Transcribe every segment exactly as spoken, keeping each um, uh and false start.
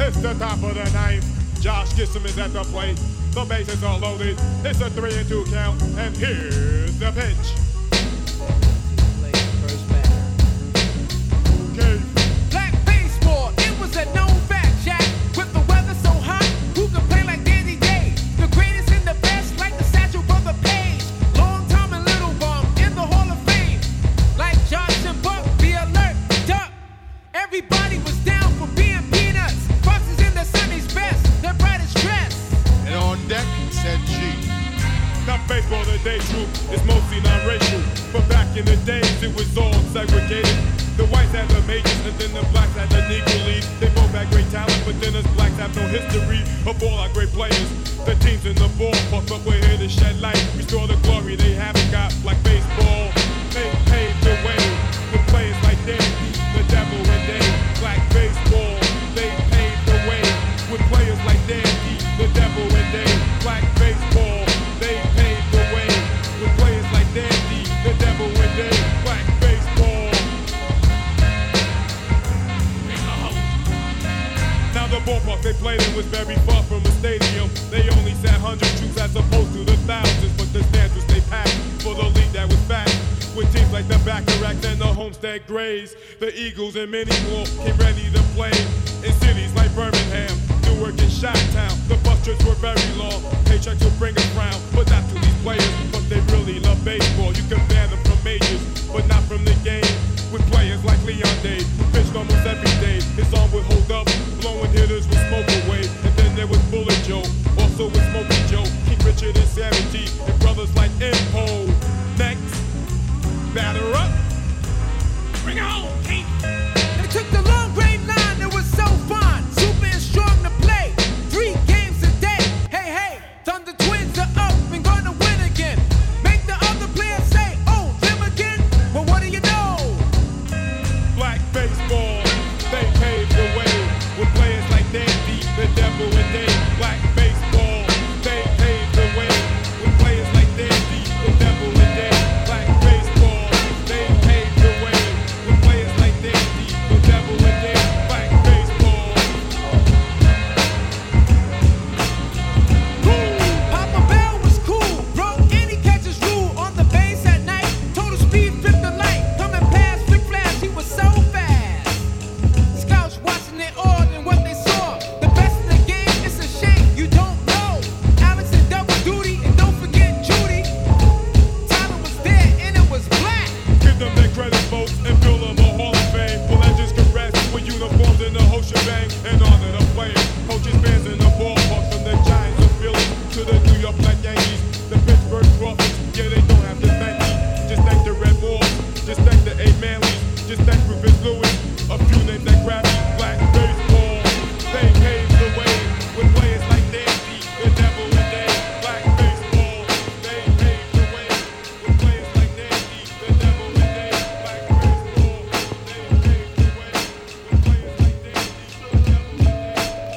It's the top of the ninth. Josh Gibson is at the plate. The bases are loaded. It's a three and two count. And here's the pitch. Okay. Black baseball, it was a known fact, Jack. With the weather so hot, who could play like Danny Day? The greatest and the best, like the Satchel Brother Page. Long Tom and Little Bum in the Hall of Fame. Like Josh and Buck, be alert, duck. Everybody was down for being peanuts. Foxes in the Sunny's best, their brightest dress. And on deck, said G. Now baseball today, true, is mostly non-racial. But back in the days, it was all segregated. The whites had the majors, and then the blacks had the Negro League. They both had great talent, but then us blacks have no history of all our great players. The teams in the ballpark, but we're here to shed light. Restore the glory they haven't got, like baseball. They paved the way with players like Danny, the Devil, and Dave. Black baseball, they paved the way with players like Danny, the Devil, and Dave. Black baseball, they paved the way with players like Dandy, the Devil, and Dave. Black baseball. Now the ballpark they played in was very far from a stadium. They only sat hundred troops as opposed to the thousands, but the stands would stay packed for the league that was back. With teams like the Bacharachs and the Homestead Grays, the Eagles and many more came ready to play. In cities like Birmingham, Newark and Chi-Town, the bus trips were very long. Paychecks would bring a frown, but not to these players. But they really love baseball. You can ban them from majors, but not from the game. With players like Leon Day, who pitched almost every day. His arm would hold up, blowing hitters would smoke away. And then there was Bullet Joe, also with Smokey Joe, King Richard and Sammy T, and brothers like Impo. Next, batter up. Bring it home, King. They took the long grade line, it was so fun. Super and strong to play, three games a day. Hey, hey, Thunder Twins are up and gonna win again. Make the other players say, oh, them again? Well, what do you know? Black baseball, they paved the way with players like Dandy, the Devil, and Dave. Black baseball, they paved the way with players like Dandy, the Devil, and Dave. Black baseball, they paved the way with players like Dandy, the Devil, and Dave. Black baseball. Woo! Papa Bell was cool, broke any catcher's rule on the base at night. Total speed, flipped the light, coming past Rick Flash, he was so fast. Scouts watching it all and what they saw. The best in the game, it's a shame you don't know. Alex and double duty, and don't forget Judy. Tyler was there and it was black. Give them their credit, folks, and build them a Hall of Fame. Well, legends can rest with uniforms in the whole shebang. And honor the players, coaches, fans in the ballpark. From the Giants of Philly to the New York Black Yankees, the Pittsburgh Crawfords. Yeah, they don't have to thank me. Just thank the Red Bulls, just thank the A. Manleys, just thank Rufus Lewis. A few names that grab me. Black baseball, they paved the way with players like Dandy, the Devil, and Dave. Black baseball, they paved the way with players like Dandy, the Devil, and Dave. Black baseball, they paved the way with players like Dandy, the Devil, and Dave.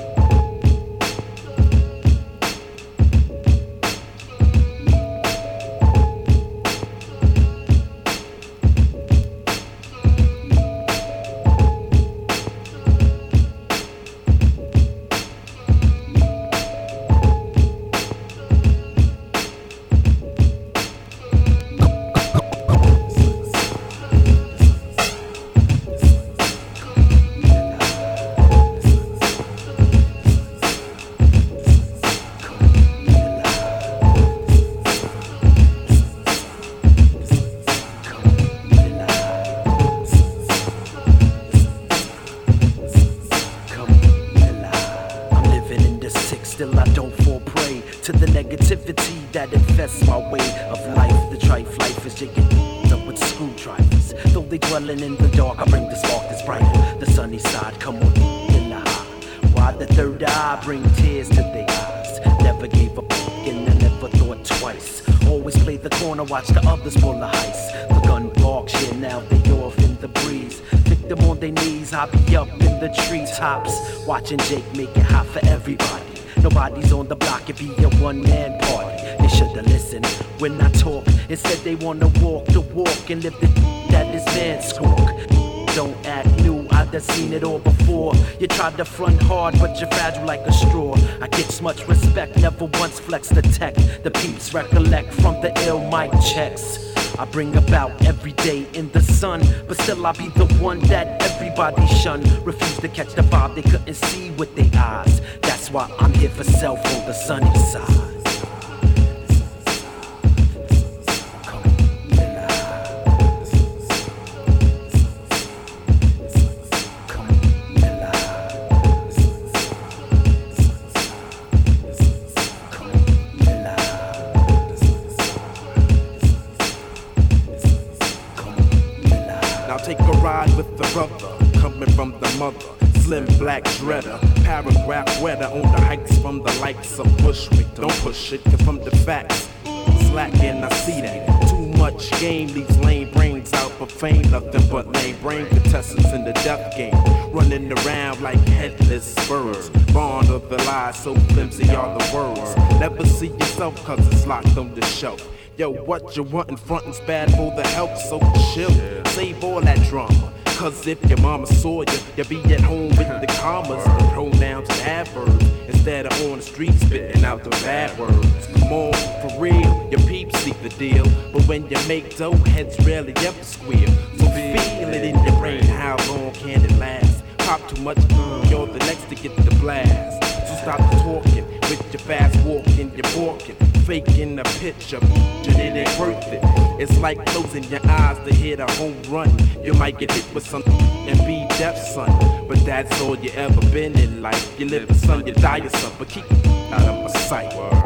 I'm living in the six, still I don't fall prey to the negativity that infests my way of life. The trife life is jigging up with screwdrivers. Though they dwelling in the dark, I bring the spark that's brighter. The sunny side, come on, in the high. Why the third eye bring tears to their eyes? Never gave up and I never thought twice. Always play the corner, watch the others pull the heist. The gun barks, yeah, now they off in the breeze. Pick them on their knees, I be up in the treetops. Watching Jake make it hot for everybody. Nobody's on the block, it be a one-man party. They should've listened when I talk. Instead they wanna walk the walk and live the that this man squawk. Don't act new, I I done seen it all before. You tried to front hard, but you're fragile like a straw. I get much respect, never once flex the tech. The peeps recollect from the ill mic checks I bring about every day in the sun, but still I be the one that everybody shun. Refuse to catch the vibe they couldn't see with their eyes. That's why I'm here for self on the sunny side. Slim black shredder, paragraph weather on the hikes from the likes of Bushwick. Don't push it, cause from the facts, slacking, I see that. Too much game leaves lame brains out for fame. Nothing but lame brain contestants in the death game. Running around like headless birds. Bond of the lies, so flimsy are the words. Never see yourself cause it's locked on the shelf. Yo, what you want in frontin's bad for the health, so chill. Save all that drama. Cause if your mama saw you, you'll be at home with the commas, the pronouns and adverbs, instead of on the street spitting out the bad words. Come on, for real, your peeps see the deal, but when you make dough, heads rarely ever squeal. So feel it in your brain, how long can it last? Pop too much, you're the next to get the blast. So stop talking, with your fast walking, you're walking, faking a picture, and it ain't worth it. It's like closing your eyes to hit a home run. You might get hit with something and be deaf, son. But that's all you ever been in life. You live, son, you die, son. But keep out of my sight.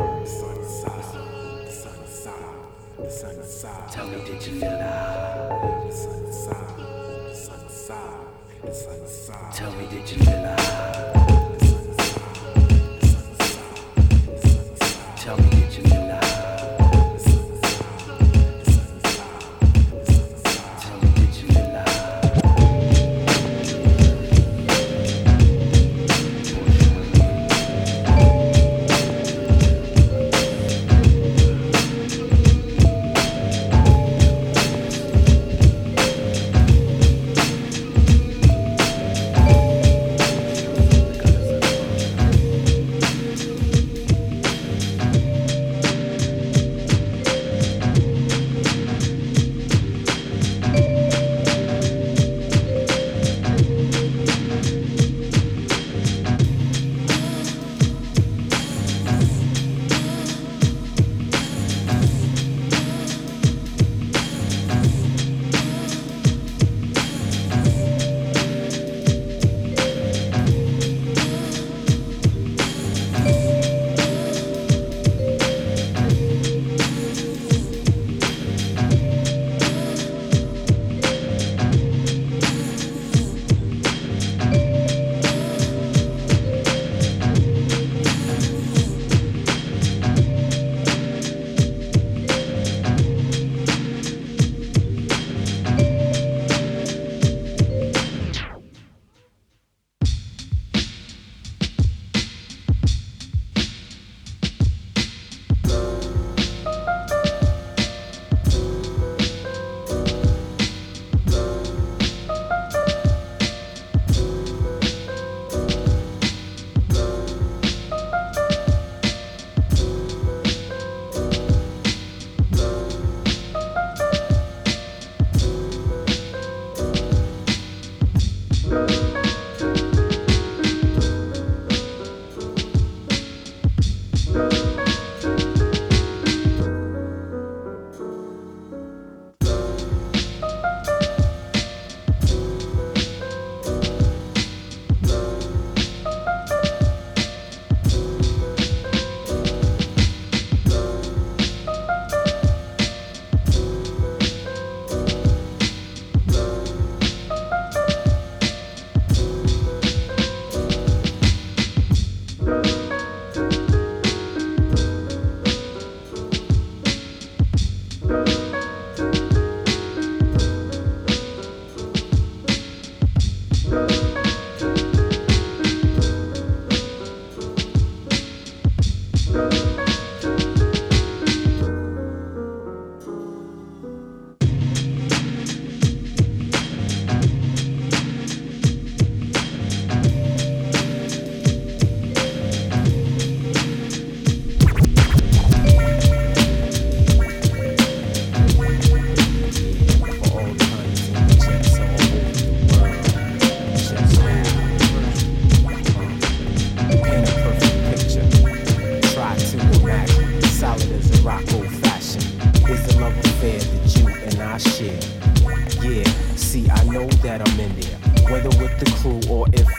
Tell me, did you feel that? Tell me, did you feel that? Tell me, did you feel that?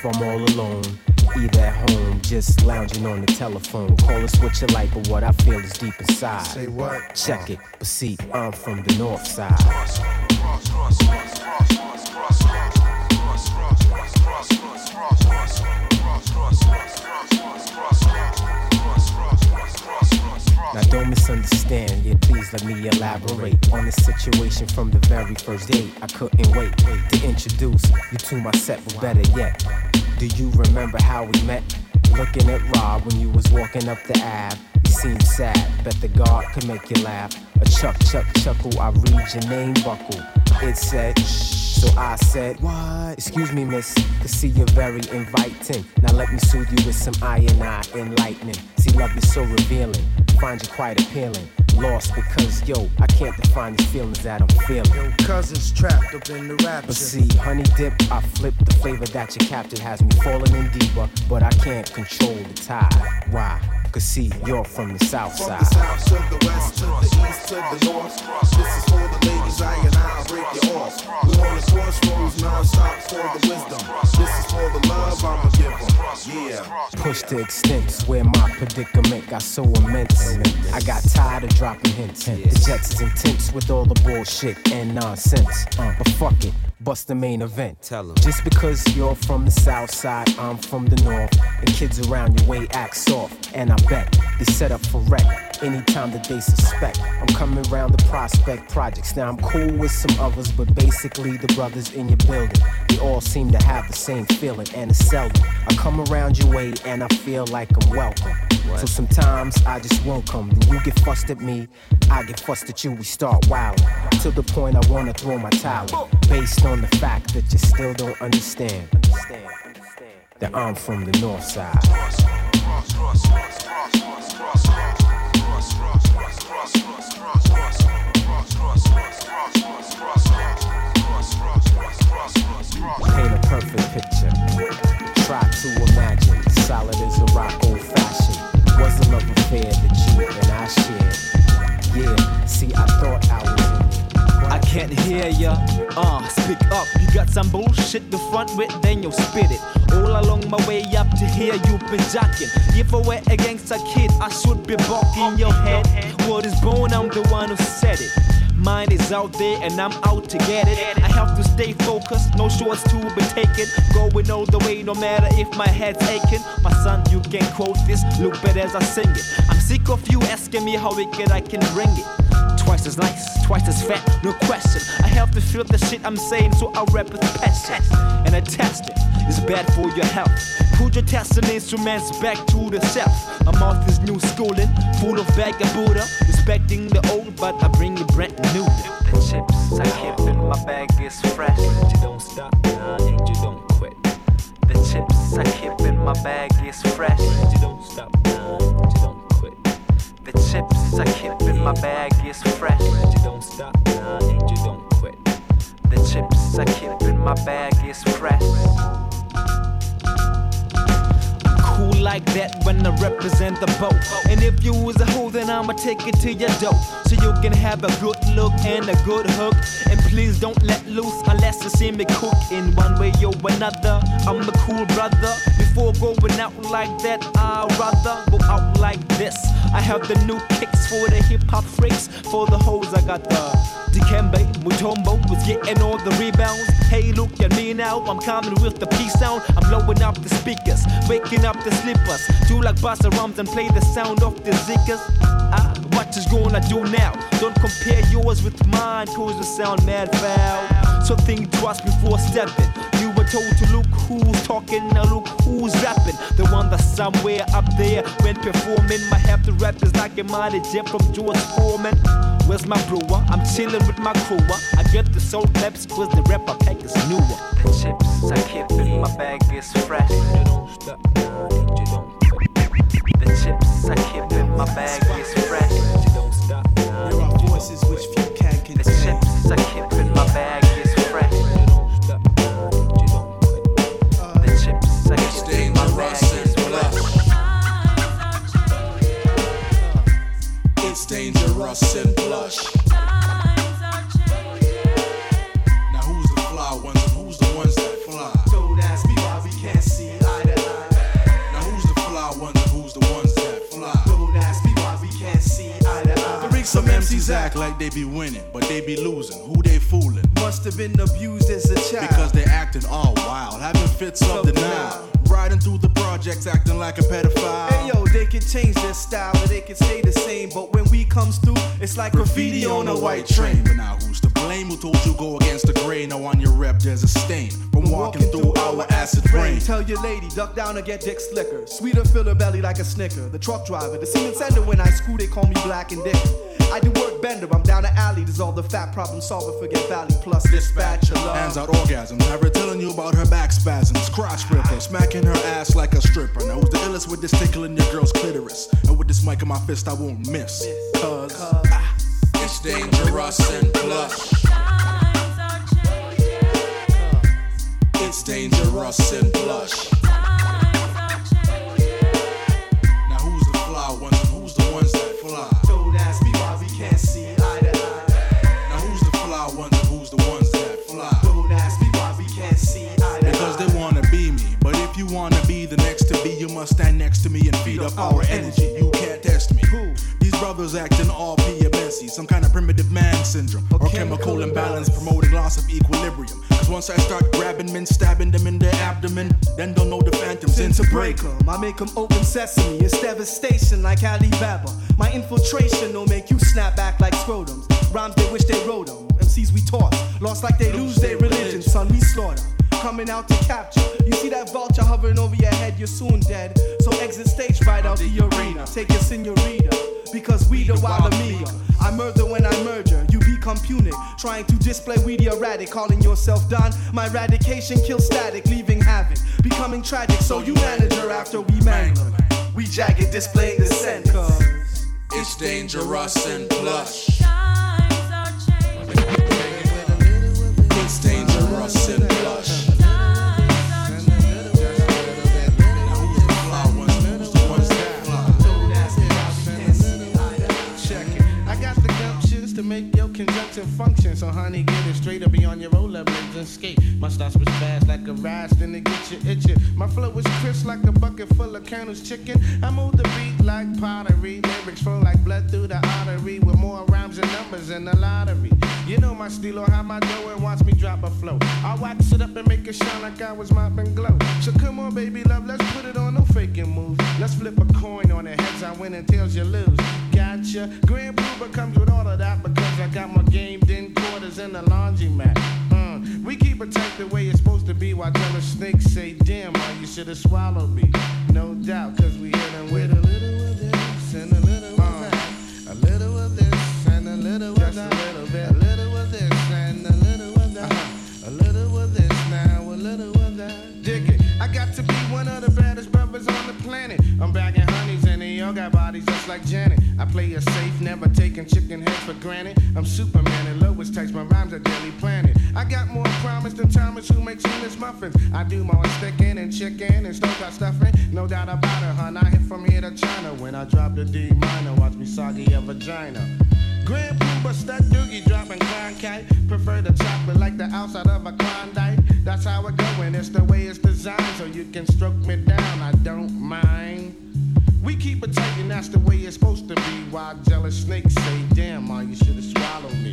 I'm all alone, either at home, just lounging on the telephone. Call us what you like, but what I feel is deep inside. Say what? Check it, but see, I'm from the north side. Now don't misunderstand, yeah, please let me elaborate on the situation from the very first date. I couldn't wait to introduce you to my set, but better yet, do you remember how we met? Looking at Rob when you was walking up the Ave. You seemed sad, bet the guard could make you laugh. A chuck, chuck, chuckle, I read your name buckle. It said, shh, so I said, what? Excuse me, miss, cause see you're very inviting. Now let me soothe you with some I and I enlightening. See, love is so revealing, find you quite appealing. Lost because, yo, I can't define these feelings that I'm feeling. Yo, cousins trapped up in the rapture. But see, honey dip, I flip the flavor that you captured has me falling in deeper, but I can't control the tide. Why? Cause see, you're from the south From side. the south to the west, to the east, to the north. This is for the ladies, I and I'll break you off. We're on the crossroads, non-stop for the wisdom. This is for the love I'ma give them. Yeah. Push to extents where my predicament got so immense. I got tired of dropping hints. The Jets is intense with all the bullshit and nonsense. Uh, but fuck it, bust the main event. Tell 'em. Just because you're from the south side, I'm from the north, and kids around your way act soft. And I bet they set up for wreck anytime that they suspect I'm coming around the Prospect Projects. Now I'm cool with some others, but basically the brothers in your building, they all seem to have the same feeling, and it's seldom I come around your way and I feel like I'm welcome. What? So sometimes I just won't come. Then you get fussed at me, I get fussed at you. We start wilding to the point I wanna throw my towel, based on the fact that you still don't understand, understand, understand that I'm from the north side. Paint a perfect picture. Try to imagine, solid as a rock, old fashioned. Was a love affair that you and I shared. Yeah, see, I thought I was in it. I can't hear ya, uh, speak up. You got some bullshit to front with, then you'll spit it. All along my way up to here, you've been jocking. If I were a gangster kid, I should be bucking your head. Word is born, I'm the one who said it. Mine is out there and I'm out to get it. I have to stay focused, no shorts to be taken. Going all the way no matter if my head's aching. My son, you can quote this, look better as I sing it. I'm sick of you asking me how wicked I can bring it. Twice as nice, twice as fat, no question. I have to feel the shit I'm saying, so I rap with passion. And I test it, it's bad for your health. Put your testing instruments back to the shelf. My mouth is new schooling, full of bag of Buddha. Respecting the old, but I bring it brand new. The chips I keep in my bag is fresh. And you don't stop, nah, and you don't quit. The chips I keep in my bag is fresh. And you don't stop, nah, and you don't quit. The chips I keep in my bag is fresh. And you don't stop, nah, and you don't quit. The chips I keep in my bag is fresh. Cool like that when I represent the boat. And if you was a hoe, then I'ma take it to your door, so you can have a good look and a good hook. And please don't let loose unless you see me cook in one way or another. I'm a cool brother. Before going out like that, I'd rather go out like this. I have the new kicks for the hip hop freaks. For the hoes, I got the Dikembe, Mutombo was getting all the rebounds. Hey, look at me now, I'm coming with the peace sound. I'm blowing up the speakers, waking up the sleepers. Do like Busta Rhymes and play the sound of the ziggers. Ah, what you gonna do now? Don't compare yours with mine, cause you sound mad foul. So think twice before stepping. You were told to look who's talking, now look who's rapping. The one that's somewhere up there when performing. Might have to rap is like a mighty jet from George Foreman. Where's my brewer? I'm chillin' with my crew. I get the soul claps cause the rapper pack is newer. The chips I keep in my bag is fresh. You don't stop, nah, and you don't quit. The chips I keep in my bag is fresh. You don't stop, nah, there are voices which few can contain. The chips I keep in my bag is fresh. You don't stop, nah, and you don't quit. The chips I keep in my bag is fresh. It's dangerous and plush. Now who's the fly ones and who's the ones that fly? Don't ask me why we can't see MCs act like they be winning, but they be losing. Who they fooling? Must have been abused as a child. Because they acting all wild, having fits of denial. Riding through the projects acting like a pedophile. Hey yo, they can change their style, but they can stay the same. But when we comes through, it's like graffiti, graffiti on a white train. But now who's to blame? Who told you go against the grain? Now on your rep there's a stain from walking, walking through, through our acid rain. Tell your lady, duck down and get dick slicker. Sweeter, fill her belly like a snicker. The truck driver, the cement sender when I school, they call me Black and Dick. I do work bender, I'm down the alley. There's all the fat problem solver, forget Valley plus dispatcher. Hands out orgasms, never telling you about her back spasms. Crotch ripper, smacking her ass like a stripper. Now who's the illest with this tickling your girl's clitoris? And with this mic in my fist I won't miss. Cause, Cause ah, it's dangerous and plush. It's dangerous and plush. Now who's the fly ones and who's the ones that fly? Don't ask me why we can't see eye to eye. Now who's the fly ones and who's the ones that fly? Don't ask me why we can't see eye to eye. Because they wanna be me, but if you wanna be the next to be, you must stand next to me and feed up our energy. You can't test me. Who? These brothers acting all P M S Y, some kind of primitive man syndrome or chemical imbalance promoting loss of equilibrium. Cause once I start grabbing men, stabbing them in their abdomen, then don't know the phantoms in to break them. I make them open sesame, it's devastation like Alibaba. My infiltration don't make you snap back like scrotums. Rhymes they wish they wrote them. M Cs we toss, lost like they lose their religion. Son, we slaughter, coming out to capture. You see that vulture hovering over your head, you're soon dead. So exit stage right out the arena. Take your senorita, because we the wild amiga. I murder when I merger, you become punic. Trying to display we the erratic, calling yourself Don. My eradication kills static, leaving havoc. Becoming tragic, so you manager after we mangle. We jagged, displaying the scent. Cause it's dangerous and plush. It's dangerous and plush. To make your conjunction function. So honey, get it straight up beyond your rollerblades and skate. My stars was fast like a rise, then they get you itching. My flow was crisp like a bucket full of Colonel's chicken. I move the beat like pottery. Lyrics flow like blood through the artery. With more rhymes and numbers in the lottery. You know my stilo, how my dough and watch me drop a flow. I wax it up and make it shine like I was mopping glow. So come on baby love, let's put it on, no faking moves. Let's flip a coin on the heads I win and tails you lose. Gotcha. Grand Blue comes with all of that because I got more game than quarters in the laundromat. Mm. We keep it tight the way it's supposed to be while jealous snakes say, damn, man, you should have swallowed me. No doubt, cause we hit them with a little of this and a little uh, of that. A little of this and a little of that. Just a little bit. A little of this and a little of that. Uh-huh. A little of this now, a little of that. Dig it. I got to be one of the baddest brothers on the planet. I'm bagging honeys and they all got bodies just like Janet. I play it safe, never taking chicken heads for granted. I'm Superman and lowest types, my rhymes are daily planet. I got more promise than Thomas who makes English muffins. I do more sticking and chicken and stovepipe stuffing. No doubt about it, hun. I hit from here to China. When I drop the D minor, watch me soggy a vagina. Grand Pooba, stud doogie, dropping Klondike. Prefer the chocolate like the outside of a Klondike. That's how it go, and it's the way it's designed. So you can stroke me down, I don't mind. We keep it tight and that's the way it's supposed to be. While jealous snakes say, damn, ma, you should've swallowed me.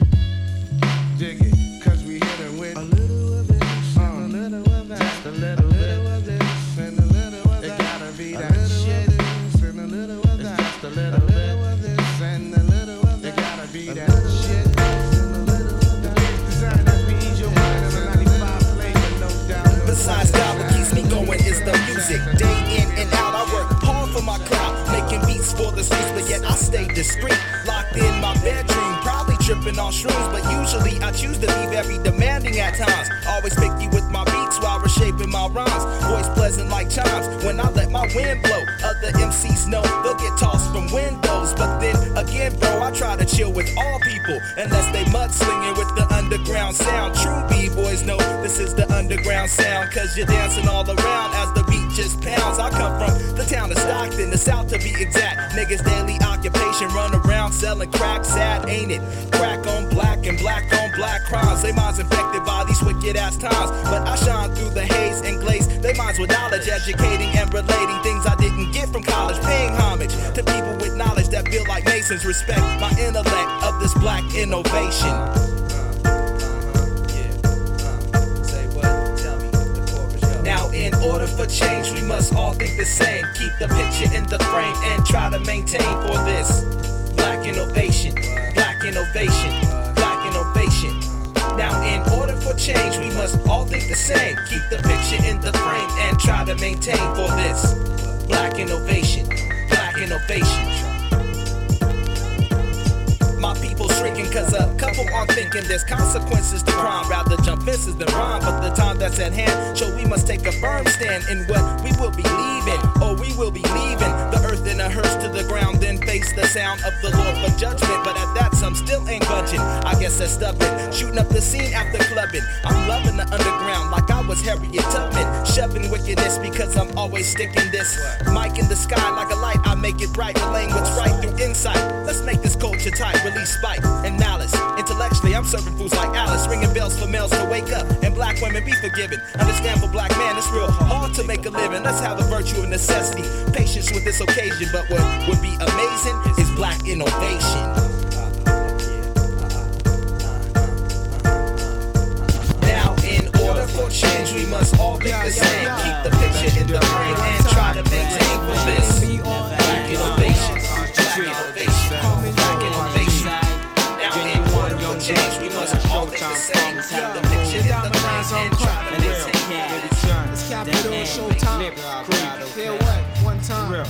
Dig it, cause we hit it with a little of this, uh, and a little of that. Just a little, a little of this, and a little of that. It gotta be that shit, and a little of that. It's just a little, a little of this, and a little of that. It gotta be that shit, and a little of that. The design that's me ease your mind on a ninety-five flavor, no doubt. Besides that, what keeps me going is the music. Day in and out, I work hard for my crowd, making beats for the streets, but yet I stay discreet. Locked in my bedroom, probably tripping on shrooms, but usually I choose to be very demanding at times. Always picky with my beats while reshaping my rhymes. Voice pleasant like chimes when I let my wind blow. Other M Cs know they'll get tossed from windows, but then again, bro, I try to chill with all people, unless they mudslinging with the underground sound. True B-boys know this is the underground sound, cause you're dancing all around as the beat just pounds. I come from the town of Stockton, the south to be exact. Niggas daily occupation, run around selling crack, sad ain't it? Crack on black and black on black crimes. They minds infected by these wicked ass times, but I shine through the haze and glaze. They minds with knowledge, educating and relating things I didn't get from college. Paying homage to people with knowledge that feel like Mason. Masons respect my intellect of this black innovation. Now in order for change we must all think the same. Keep the picture in the frame and try to maintain for this black innovation, black innovation, black innovation. Now in order for change we must all think the same. Keep the picture in the frame and try to maintain for this black innovation, black innovation. My people shrinking cause a couple aren't thinking there's consequences to crime. Rather jump fences than rhyme, but the time that's at hand show we must take a firm stand in what we will be leaving, or we will be leaving the earth in a hearse to the ground, then face the sound of the Lord for judgment. But at that some still ain't budging, I guess that's stubborn. Shooting up the scene after clubbing, I'm loving the underground like I was Harriet Tubman. Shoving wickedness because I'm always sticking this mic in the sky like a light. I make it bright, relaying what's right through insight. Let's make this culture tight, release spite and malice. Intellectually I'm serving fools like Alice, ringing bells for males to wake up and black women be forgiven. Understand for black man it's real hard to make a living. Let's have the virtue of necessity, patience with this occasion. But what would be amazing is black innovation. Now in order for change we must all think the same. Keep the picture in the frame and try to maintain for this black innovation, black innovation, black innovation. Now in order for change we must all think the same. Keep the picture in the frame and try to maintain. It's Capital Showtime. Feel what? One time.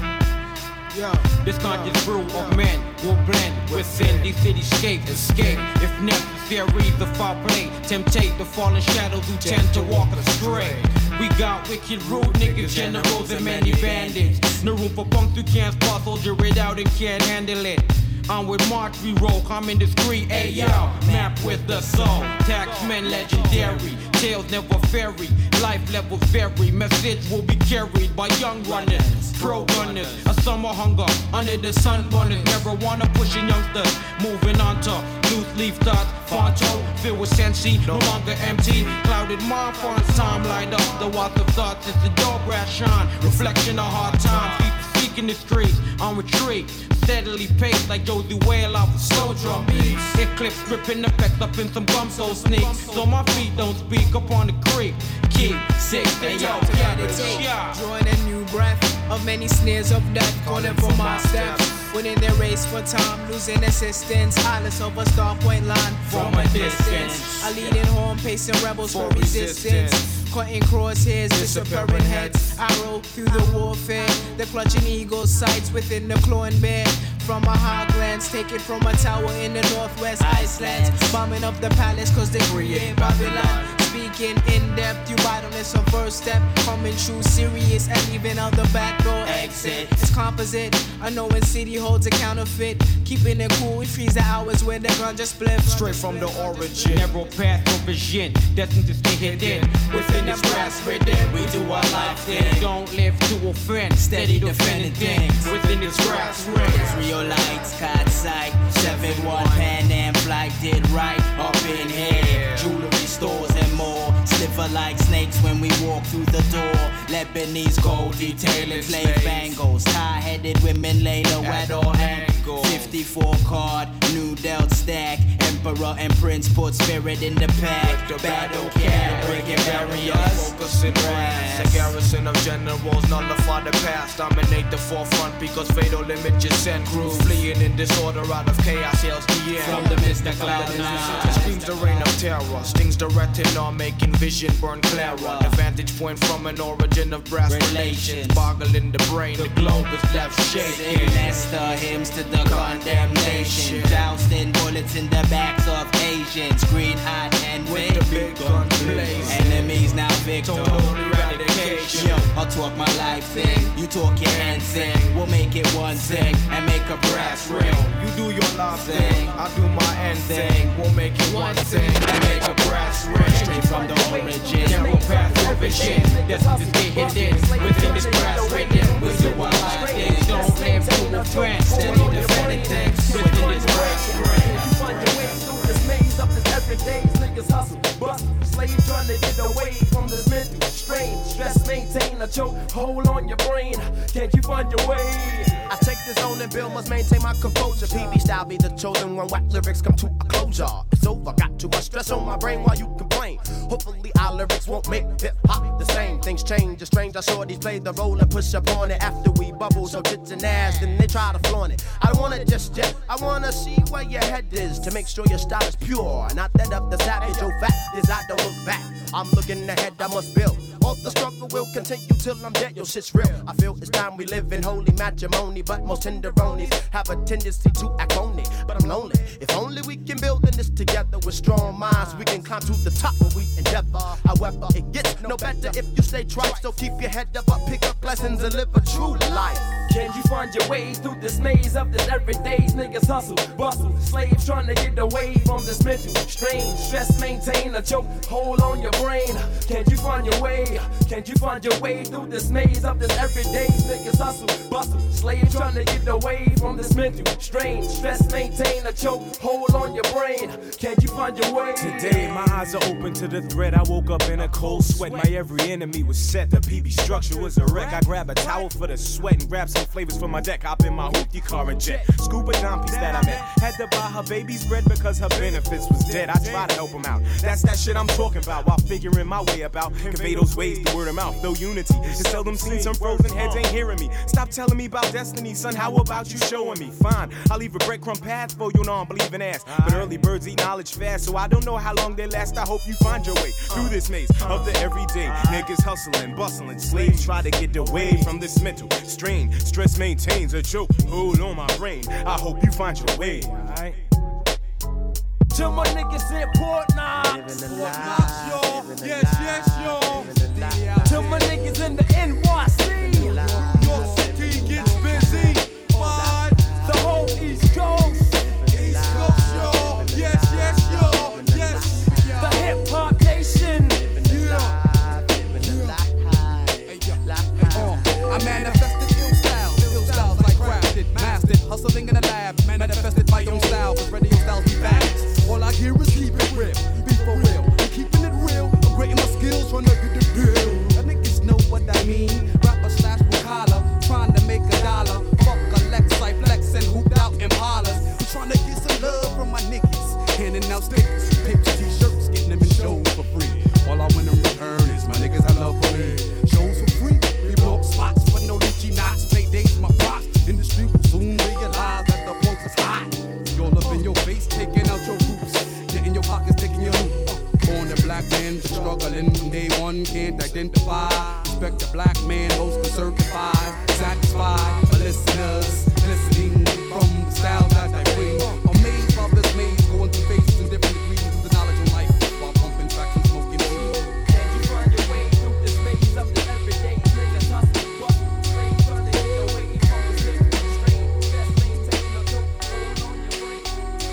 Yo, this conscious brew of men will blend within the cityscape. Escape, if necessary, the foul play. Temptate the fallen shadows who tend to walk astray. We got wicked rude niggas, generals and many bandits. No room for punks who can't spot, soldier it out and can't handle it. I'm with March, we roll, coming discreet, ayo. Map with the soul, taxmen legendary. Tales never vary, life levels vary. Message will be carried by young runners, pro gunners. A summer hunger under the sun burners. Marijuana pushing youngsters, moving on to loose leaf thoughts. Fonto, filled with sensi, no longer empty. Clouded mind, fonts, time light up. The water of thoughts is the door brass shine. Reflection of hard times. In the streets, on retreat, steadily paced like Josie Whale off of slow drum beats. Eclipse gripping effects up in some gum so sneaks, so my feet don't speak upon the creek. Keep sick, they yo, meditate, drawing a new breath of many snares of death, calling for my steps. Winning their race for time, losing assistance. Eyeless of a star point line from a distance. A leading horn, pacing rebels for resistance. Cutting crosshairs, disappearing heads. Arrow through the warfare. The clutching eagle sights within the clawing bear. From a high glance, taken from a tower in the northwest Iceland. Bombing up the palace cause they create Babylon. Speaking in depth, you ride on this on first step. Coming true serious and leaving out the back door exit. It's composite, I know when city holds a counterfeit. Keeping it cool, we freeze the hours when the gun just split. Straight from the origin, narrow path of vision, destined to stay hidden. Within this grass ridden, we do our life thing. Don't live to offend, steady defending things. Within this grass ring, Israelites, caught sight, seven one Pan Am flight did right up in here. Jewelry stores and more, sliver like snakes when we walk through the door. Lebanese gold detailing slave bangles, tie-headed women lay low at all angles. fifty-four card, new dealt stack, emperor and prince put spirit in the pack. Battle cat, breaking barriers, focusing brass. A garrison of generals nullify the past, dominate the forefront because fatal images send crews fleeing in disorder out of chaos. Yells the end from the mist of cloud nine. Screams the reign of terror, stings the retinol, making vision burn clearer. The vantage point from an origin of brass relations, boggling the brain. The globe is left shaking. Nesta hymns to the condemnation, doused in bullets in the backs of Asians. Green hot and with the big gun blazing. Enemies now victim. Yo, I'll talk my life thing, you talk your hand thing. We'll make it one thing and make a brass ring. You do your life thing, I do my end thing. We'll make it one thing and make a brass ring. Straight from the origin, narrow path of vision, destined to stay hidden. Within this brass ridden, we do our life thing. Don't live to offend, steady defending things. Within this brass ring. You find your way through this maze of this everyday. Niggas hustle, bust, slave trying to get away from this mental strain. Stress maintain a choke, hold on your brain. Can't you find your way? I take the zone and build must maintain my composure. P B style be the chosen one, whack lyrics come to a closure. It's over, got too much stress on my brain while you complain. Hopefully our lyrics won't make hip hop the same. Things change, it's strange, I saw these play the role and push up on it after we bubble. So tits and ass, then they try to flaunt it. I don't want it just yet, I wanna see where your head is to make sure your style is pure. Not that of the savage, oh fact is I don't look back. I'm looking ahead, I must build. All the struggle will continue till I'm dead, yo shit's real. I feel it's time we live in holy matrimony, but most tenderonies have a tendency to act phony. But I'm lonely, if only we can build in this together with strong minds. We can climb to the top when we endeavor. However, it gets no better if you stay trite. So keep your head up, up, pick up lessons and live a true life. Can you find your way through this maze of this everyday's niggas hustle, bustle, slaves trying to get away from this mental strain, stress, maintain a choke, hold on your brain. Can you find your way? Can you find your way through this maze of this everyday's niggas hustle, bustle, slaves trying to get away from this mental strain, stress, maintain a choke, hold on your brain. Can you find your way? Today my eyes are open to the threat. I woke up in a cold sweat. My every enemy was set. The P B structure was a wreck. I grab a towel for the sweat and grab some flavors for my deck. Hop in my hoopty car and jet. Scuba Dom piece that I met. Had to buy her baby's bread because her benefits was dead. I try to help him out. That's that shit I'm talking about while figuring my way about. Convey those ways through word of mouth. Though unity is seldom seen. Some frozen heads ain't hearing me. Stop telling me about destiny, son. How about you showing me? Fine, I'll leave a breadcrumb path for you non-believing ass. But early birds eat knowledge fast, so I don't know how long they last. I hope you find your way through this maze of the everyday. Niggas hustling, bustling, slaves try to get away from this mental strain. Stress maintains a choke, hold on my brain. I hope you find your way, alright? To my niggas in Port Knox, Port Knox, y'all. Yes, yes, y'all. To my niggas in the N Y C, New York City gets busy. Fine. The whole East Coast, East Coast, y'all. Yes, yes, y'all. Yes. The hip hop nation. I manifested ill styles, ill styles like crafted, mastered, hustling in the lab, manifested my own style, cause radio styles be fast. All I hear is keep it real, be for real, I'm keeping it real, upgrading my skills, trying to get the deal. The niggas know what I mean, rapper slash blue collar, trying to make a dollar, fuck a Lexi flex and hooped out Impalas. I'm trying to get some love from my niggas, handing out stickers, pips, t-shirts, getting them in shows for free. All I want in return is my niggas I love for me. Shows for free, we blow up spots for no Lucci knots. Paydays my props, industry will soon realize that the punk is hot. You're up in your face, taking out your roots, getting your pockets, taking your loot. Born a black man, struggling from day one, can't identify. Respect the black man, most are certified, satisfied. My listeners listening from the style that I bring. Amazed by this maze, going through phases in different degrees of the knowledge of life while pumping tracks and smoking weed. Can you find your way through this maze of the everyday niggas hustle, bustle, slaves trying to get away from this mental strain, stress, maintain a choke, hold on your brain.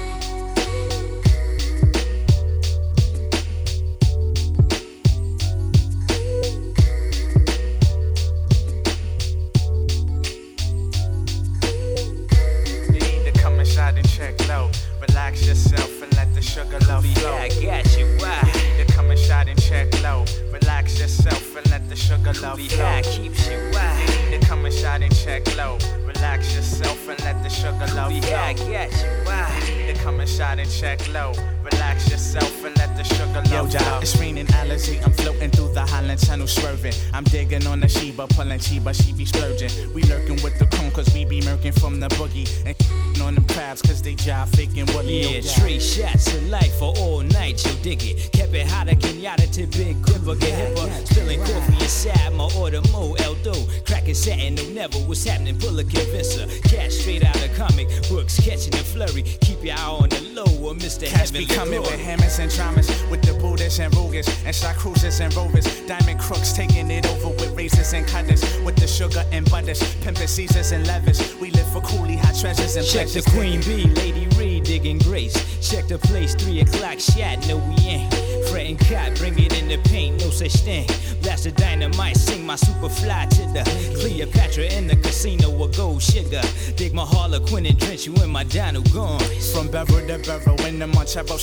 You need to come inside and check low. Relax yourself and let the sugar love flow. Yeah, I got you. Why? You need to come inside and check low. Relax yourself and let the sugar love flow. Yeah, keeps you. Why? You need to come inside and check low. Relax yourself and let the sugar love flow. Yeah, I got you. Why? You need to come inside and check low. Relax yourself and let the sugar love Yo, flow. It's raining Alizé, I'm floating through the Highland Channel swerving. I'm digging on the Sheba, pulling Chiba, she be splurging. We lurking with the cone cause we be murking from the boogie. And on them crabs cause they jive faking Willie. Yeah, three shots of life for all night, you dig it. Kept it hotter, Kenyatta to Big Dipper, get hipper. Spilling coffee inside my order, Mo Eldo. Cracking satin, no never, what's happening, pull a convincer. Cash straight out of comic books, catching the flurry. Keep your eye on the low, or Mister Cats Heavenly be coming Glory. with hammers and dramas, with the Buddhas and Rugas, and shot cruisers and rovers. Diamond crooks taking it over with razors and cutters, with the sugar and butters, pimping Caesars and levers. We live for coolie, hot treasures and Check the pleasures. Queen Bee, Lady Reed, digging grace. Check the place, three o'clock shot, no we ain't. Fretting cot, bring it in the paint, no such thing. Blast the dynamite, sing my super fly to the Cleopatra in the casino with gold sugar. Dig my Harlequin and drench you in my Donald Guns. From Beverly to Beverly, in the Montero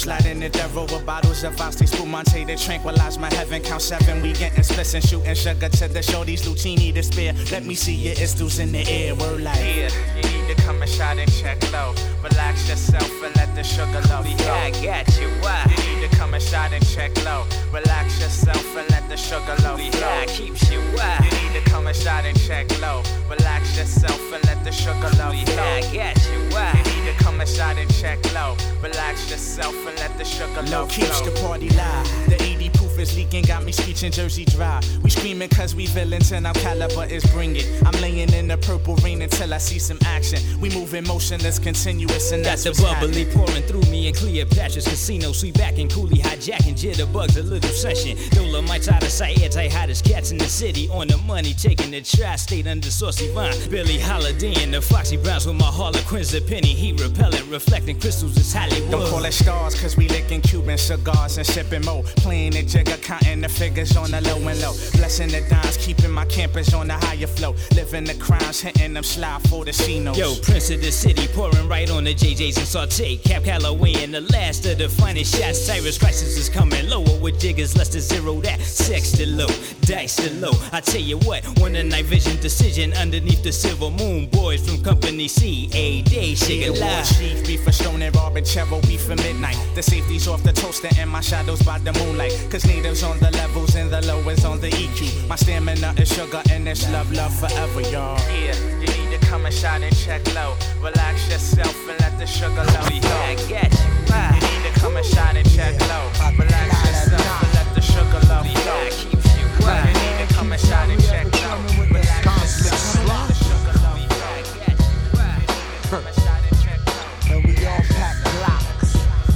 Sliding the devil with bottles of ice, they spumante to tranquilize my heaven. Count seven, we getting splits and shooting sugar to the shorties, Lucini to spare. Let me see your istos in the air, word like yeah, you need to come and shot and check low. Relax yourself and let the sugar love flow. Yeah, I got you, why? You need to come and shot and check low. Relax yourself and let the sugar love flow. Yeah, keeps you, why? You need to come and shot and check low. Relax yourself and let the sugar love flow. Yeah, I got you, why? You need to come and shot and check low. Relax yourself and let the sugar love flow. Keeps the party live. The eighty proof is leaking, got me screeching Jersey dry. We screaming cause we villains and our caliber is bring it. I'm laying in the purple rain until I see some action. We moving motionless, continuous, and that's got the bubbly happening. Pouring through me in Cleopatra's casino. Sweet back and coolie, hijacking jitterbugs, a little session. Dolomites out of sight, anti-hottest cats in the city. On the money, taking the tri-state under Saucy Vine. Billie Holiday and the Foxy Browns with my Harlequins, a penny heat repellent, reflecting crystals is Hollywood. Don't call it stars, cause we licking Cuban cigars and sipping mo. Playing the jigger, counting the figures on the low and low. Blessing the dimes, keeping my campers on the higher flow. Living the crimes, hitting them slide for the Cinos. Yo, Prince of the City, pouring right on the J Js and saute. Cap Calloway and the last of the finest shots. Cyrus Crisis is coming lower with jiggers, less than zero that. Sex the low, dice the low. I tell you what, one a night vision decision underneath the silver moon. Boys from Company C, A day, shake it live. Chief, beef for Stone and Robin, Cheryl, beef for midnight. The safety's off the toaster and my shadows by the moonlight. Cause natives on the levels and the lowest on the E Q. My stamina is sugar and it's love, love forever, y'all. Yeah, you need to come and shot and check low. Relax yourself and let the sugar love flow. Yeah, I got you, why? You need to come and shot and check low. Relax yourself and let the sugar love flow. Yeah, keeps you, why? You need to come and shot and check low. Relax yourself and let the sugar love flow. Yeah, I got you, why? Come and shot and check low. And we all pack blocks.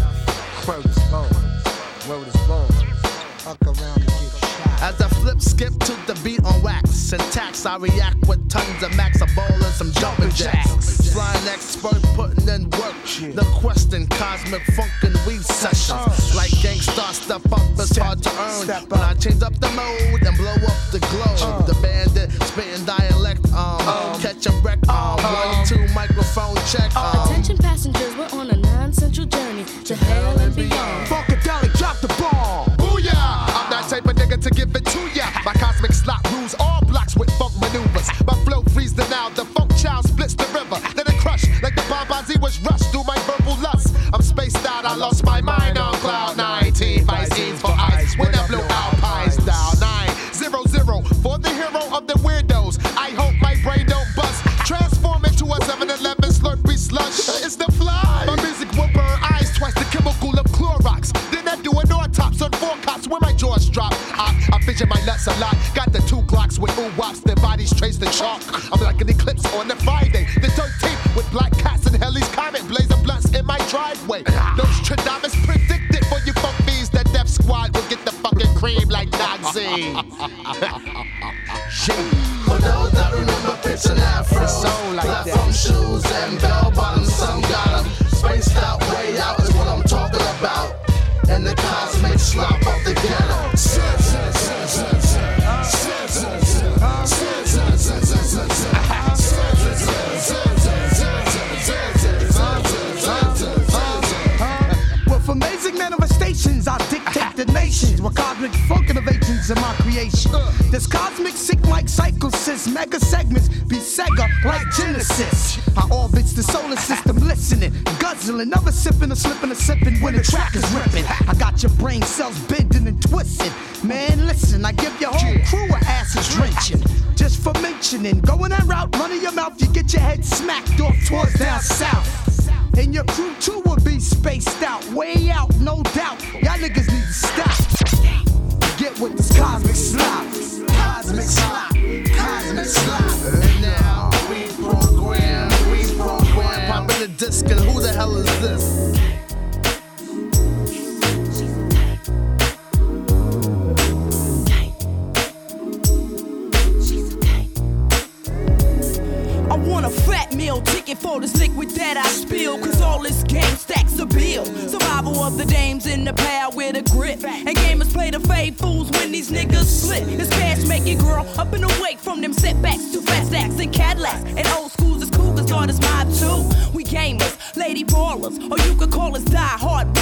Word is bone. Word is bone. Fuck around and get shot. As I flip, skip to the beat on wax. Syntax, I react with tons of max. A ball and some jumping jacks. Flying expert, putting in work. The question, cosmic funk and weave sessions. Like Gangstar, step up, it's hard to earn. When I change up the mode and blow up the globe. The bandit, spitting dialect, um, catch a wreck, um, one, two, microphone check, um. Attention passengers, we're on a non-central journey to hell and beyond. Funkadelic, drop the ball. Booyah! I'm that type of nigga to give it to ya. My cosmic slot rules all blocks with funk maneuvers. My flow frees the now, the funk child splits the river. Then it crush like the Bombazi was rushed through my verbal lust. I'm spaced out, I lost my mind on cloud nineteen. Visines for ice when I blew Alpine style. Nine, zero, zero for the hero of the weirdos. I hope my brain don't bust. Transform into a seven eleven Slurpee slush. It's the fly. My music will burn eyes twice the chemical of Clorox. Then I do an autopsy on four cops where my jaws drop. I, I fidget my nuts a lot. Got the two Glocks with ooh wops. Their bodies trace the chalk. I'm like an eclipse on the Friday. The thirteenth with black cats and Helly's Comet. Blazing blunts in my driveway. Nostradamus predicted for you funk bees that Def Squad will get the fucking cream like Nazi. For those that remember Pitch and Afro, like platform shoes and bell bottoms, some got them. Spaced out, way out is what I'm talking about. And the cosmic slop of the ghetto. With amazing manifestations, I dictate the nations. With cosmic funk innovations in my creation. This cosmic sick like psychosis, mega segments be Sega like Genesis. I orbits the solar system, listening, guzzling, never sipping or slipping or sipping when the track is ripping. I got your brain cells bending and twisting. Man, listen, I give your whole crew a acid drenching. Just for mentioning, going that route, running your mouth, you get your head smacked off towards down south. And your crew too will be spaced out, way out, no doubt. Y'all niggas need to stop. Get with this cosmic slop, cosmic slop, cosmic slop. And now we program, we program. Popping the disc and who the hell is this? I want a fat meal ticket for this liquid that I spill. Cause all this game stacks a bill. Survival of the dames in the power with a grip. And gamers play the fade fools when these niggas slip. This cash making girl up and awake from them setbacks to fast acts and Cadillacs. And old schools is cougars, God is mob too. We gamers, lady ballers, or you could call us die hard women with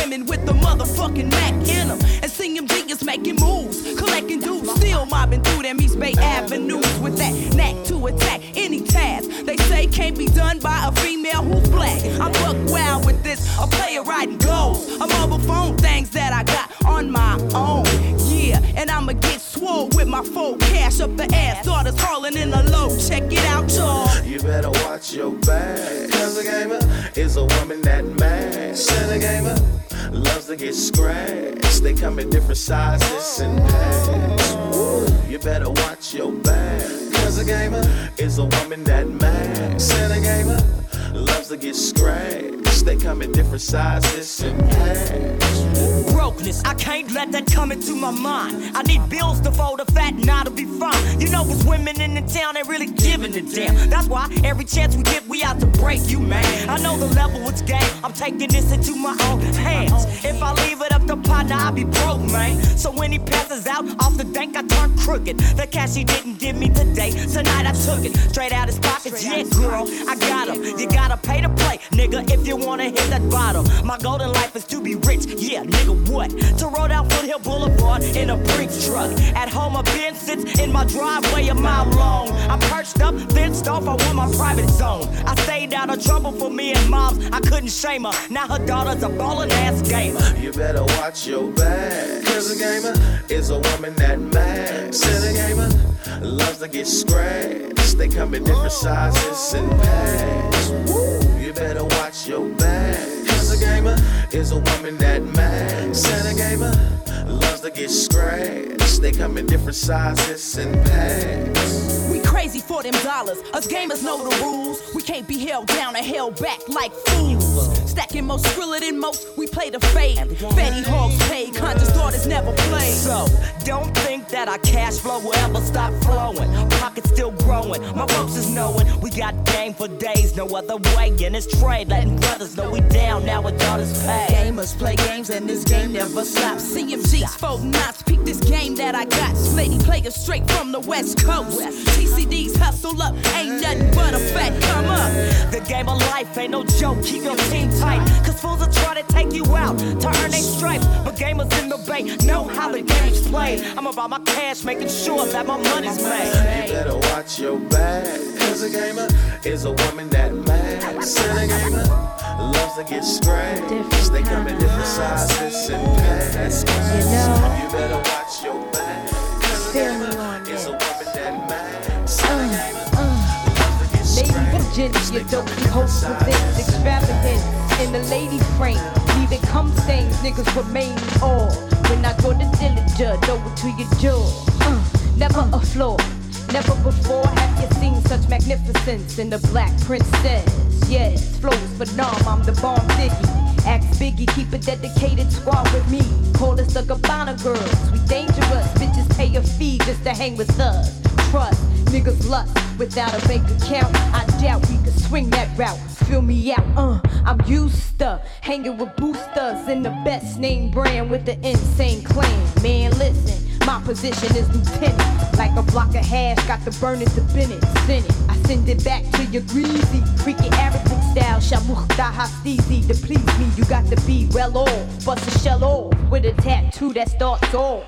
the motherfucking Mac in them. And C M G is making moves, collecting dues, still mobbing through them East Bay avenues with that knack to attack any task. They say can't be done by a female who's black. I'm buck wild with this, a player riding goals, a mobile phone things that I got on my own. Yeah, and I'ma get swole with my full cash up the ass. Daughters calling in the low, check it out, y'all. You better watch your back, cause a gamer is a woman that mad. Said a gamer loves to get scratched. They come in different sizes and packs. You better watch your back, cause a gamer is a woman that mad. Said a gamer loves to get scratched. They come in different sizes and packs. Brokenness, I can't let that come into my mind. I need bills to fold a fat and I'll be fine. You know it's women in the town that really giving it damn. That's why every chance we get, we out to break you, man. I know the level it's game. I'm taking this into my own hands. If I leave it up to partner, I'll be broke, man. So when he passes out off the bank, I turn crooked. The cash he didn't give me today, tonight I took it straight out his pockets. Yeah, girl, I got him. You gotta pay to play, nigga, if you wanna hit that bottom. My golden life is to be rich, yeah, nigga, what? To roll down Foothill Boulevard in a Brinks truck. At home, a Benz sits in my driveway a mile long. I'm perched up, fenced off, I want my private zone. I stayed out of trouble for me and moms, I couldn't shame her. Now her daughter's a ballin' ass gamer. You better watch your back, cause a gamer is a woman that mad. Said a gamer loves to get scratched. They come in different sizes and packs. You better watch your back, cause a gamer is a woman that mad. Said a gamer loves to get scratched. They come in different sizes and packs. We crazy for them dollars. Us gamers know the rules. We can't be held down and held back like fools. Stacking most, skriller than most. We play the fade. Fatty hogs paid. Conscious daughters never play. So don't think that our cash flow will ever stop flowing. Pockets still growing. My folks is knowing we got game for days. No other way in this trade. Letting brothers know we down now with daughters pay. Gamers play games and this game never stops. C M G's four knots. Peek this game that I got. Lady players straight from the West Coast. T C D's hustle up. Ain't nothing but a fat come up. The game of life ain't no joke. Keep your team tight. Cause fools will try to take you out to earn their stripes. But gamers in the bay know how the game's played. I'm about my cash, making sure that my money's made. You better watch your back, cause a gamer is a woman that mad. Said a gamer loves to get scratched. They come in different sizes and packs. You know, you better watch your back, cause a gamer is a woman that mad. Said a gamer loves to get scratched. Lady Virginia, don't be host with this extravagance in the lady frame. Leaving cum stains, niggas remain all. When I go to Dillinger, over to your jaw. Uh, never a flaw, never before have you seen such magnificence in the Black Princess. Yes, flows phenom, I'm the bomb Ziggy. Ask Biggie, keep a dedicated squad with me. Call us the Gabbana girls, we dangerous. Bitches pay a fee just to hang with us. Trust, niggas lust without a bank account. I doubt we could swing that route. Fill me out, uh, I'm used to hanging with boosters in the best name brand with the insane clan. Man, listen, my position is lieutenant. Like a block of hash, got the burning to Bennett. Send it, I send it back to your greasy. Freaking Arabic style, shamukhta hastizi. To please me, you got to be well off. Bust a shell off with a tattoo that starts off.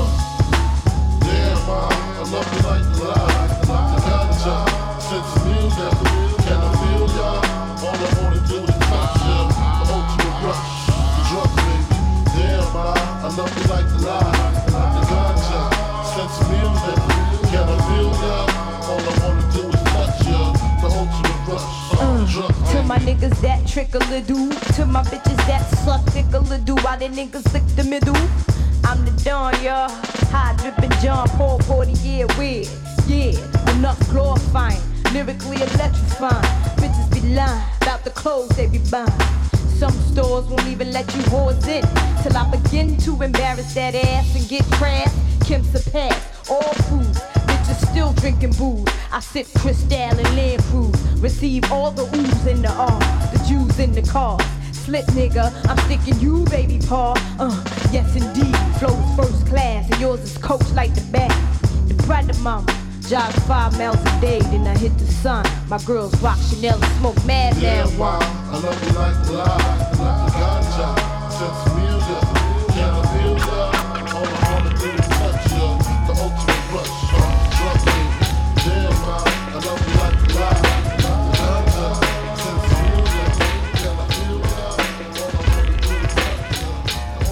Yeah, mom, I love you like the lie. I got ya since the music. Can I feel ya? All I wanna do is touch ya. The ultimate rush, the drug baby. Damn, mom, I love you like the lie. I got ya since the music. Can I feel ya? All I wanna do is touch ya. The ultimate rush, the drug baby. To my niggas that trickle a do, to my bitches that suck tickle a do. Why the niggas lick the middle? I'm the Don, y'all. High drippin' John Paul, forty year weird. Yeah, enough glorifying, lyrically electrifying. Bitches be lying about the clothes they be buying. Some stores won't even let you whores in till I begin to embarrass that ass and get trash. Kim's a pass, all food. Bitches still drinking booze. I sip Cristal and Land Cruise. Receive all the oohs in the R, the Jews in the car. Slip nigga, I'm sticking you, baby paw. Uh, yes indeed, flows first class, and yours is coached like the back. The brother mama, jog five miles a day, then I hit the sun. My girls rock Chanel and smoke mad Yeah, marijuana. ma, I love you like the lie, I love the ganja, sense music, can I feel love? All I wanna do is touch you, the ultimate rush, drug me. Yeah, ma, I love you like the lie, I love the ganja, sense music, can I feel love? All I wanna do is touch you, the